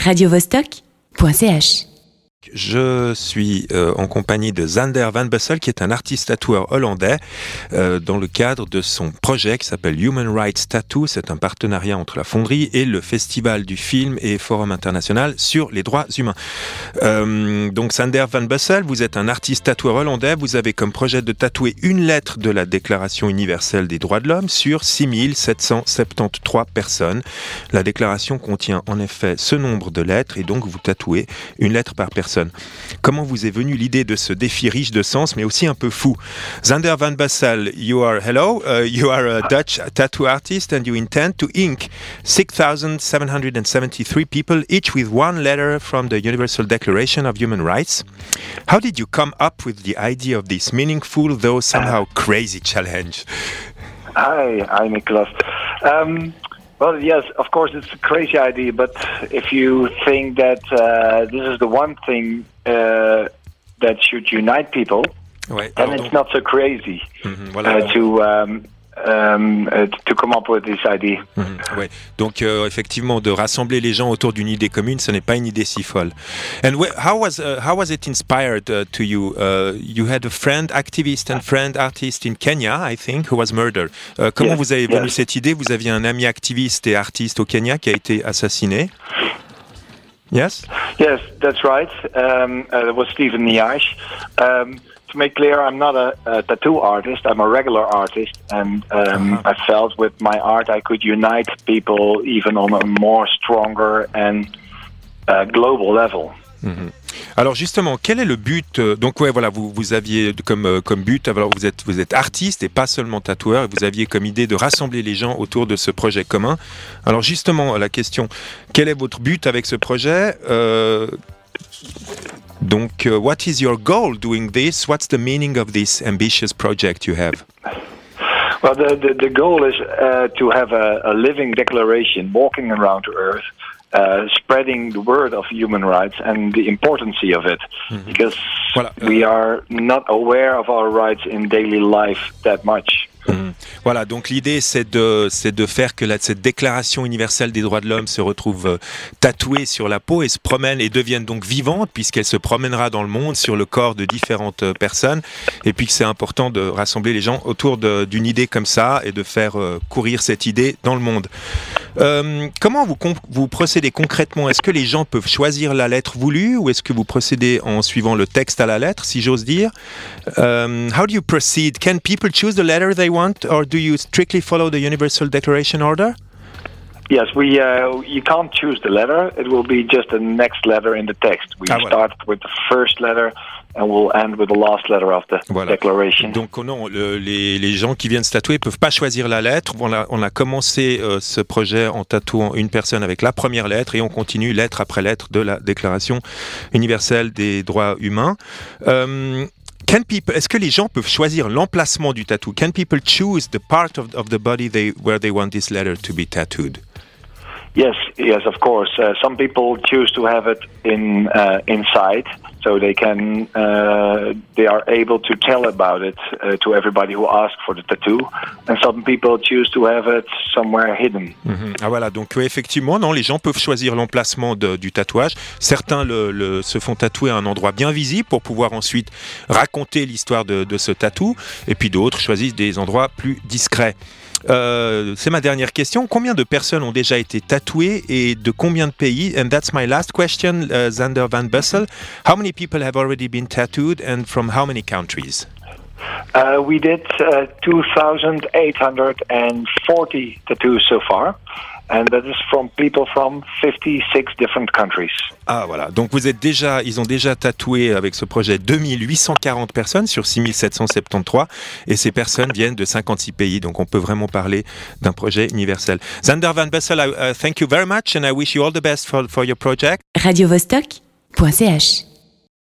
radiovostok.ch. Je suis en compagnie de Sander van Bussel, qui est un artiste tatoueur hollandais, dans le cadre de son projet qui s'appelle Human Rights Tattoo. C'est un partenariat entre la Fonderie et le Festival du film et Forum international sur les droits humains. Donc Sander van Bussel, vous êtes un artiste tatoueur hollandais. Vous avez comme projet de tatouer une lettre de la Déclaration universelle des droits de l'homme sur 6773 personnes. La déclaration contient en effet ce nombre de lettres et donc vous tatouez une lettre par personne. Comment vous est venue l'idée de ce défi riche de sens, mais aussi un peu fou? Sander van Bussel, you are a Dutch tattoo artist and you intend to ink 6,773 people, each with one letter from the Universal Declaration of Human Rights. How did you come up with the idea of this meaningful, though somehow crazy challenge? Hi, Nicholas. Well, yes, of course, it's a crazy idea, but if you think that this is the one thing that should unite people, then it's not so crazy to come up with this idea. Ouais. Donc, effectivement, de rassembler les gens autour d'une idée commune, ce n'est pas une idée si folle. And how was it inspired to you? You had a friend, activist and friend artist in Kenya, I think, who was murdered. Comment vous avez venu cette idée? Vous aviez un ami activiste et artiste au Kenya qui a été assassiné. Yes? Yes, that's right. It was Stephen Niash. To make clear, I'm not a tattoo artist. I'm a regular artist, and I felt with my art I could unite people even on a more stronger and global level. Mm-hmm. Alors justement, quel est le but? Donc vous aviez comme but. Alors vous êtes artiste et pas seulement tatoueur, et vous aviez comme idée de rassembler les gens autour de ce projet commun. Alors justement, la question, quel est votre but avec ce projet? Donc, what is your goal doing this? What's the meaning of this ambitious project you have? Well, the goal is to have a living declaration walking around the earth, spreading the word of human rights and the importance of it, because we are not aware of our rights in daily life that much. Voilà, donc l'idée c'est de faire que cette déclaration universelle des droits de l'homme se retrouve tatouée sur la peau et se promène et devienne donc vivante, puisqu'elle se promènera dans le monde sur le corps de différentes personnes, et puis que c'est important de rassembler les gens autour d'une idée comme ça et de faire courir cette idée dans le monde. Comment vous procédez concrètement? Est-ce que les gens peuvent choisir la lettre voulue, ou est-ce que vous procédez en suivant le texte à la lettre, si j'ose dire? How do you proceed? Can people choose the letter they want, or do you strictly follow the Universal Declaration order? Yes, you can't choose the letter. It will be just the next letter in the text. We start with the first letter and we'll end with the last letter of the declaration. Donc non, les gens qui viennent se tatouer peuvent pas choisir la lettre. On a commencé ce projet en tatouant une personne avec la première lettre, et on continue lettre après lettre de la Déclaration universelle des droits humains. Est-ce que les gens peuvent choisir l'emplacement du tatou? Can people choose the part of the body where they want this letter to be tattooed? Yes, of course. Some people choose to have it inside, so they are able to tell about it to everybody who asks for the tattoo. And some people choose to have it somewhere hidden. Ah voilà, donc effectivement, non, les gens peuvent choisir l'emplacement du tatouage. Certains se font tatouer à un endroit bien visible pour pouvoir ensuite raconter l'histoire de ce tatou, et puis d'autres choisissent des endroits plus discrets. C'est ma dernière question. Combien de personnes ont déjà été tatouées et de combien de pays? And that's my last question, Sander van Bussel. How many people have already been tattooed and from how many countries? We did 2,840 tattoos so far. And that is from people from 56 different countries. Ah voilà, donc ils ont déjà tatoué avec ce projet 2840 personnes sur 6773, et ces personnes viennent de 56 pays, donc on peut vraiment parler d'un projet universel. Sander van Bussel, thank you very much and I wish you all the best for your project. radiovostok.ch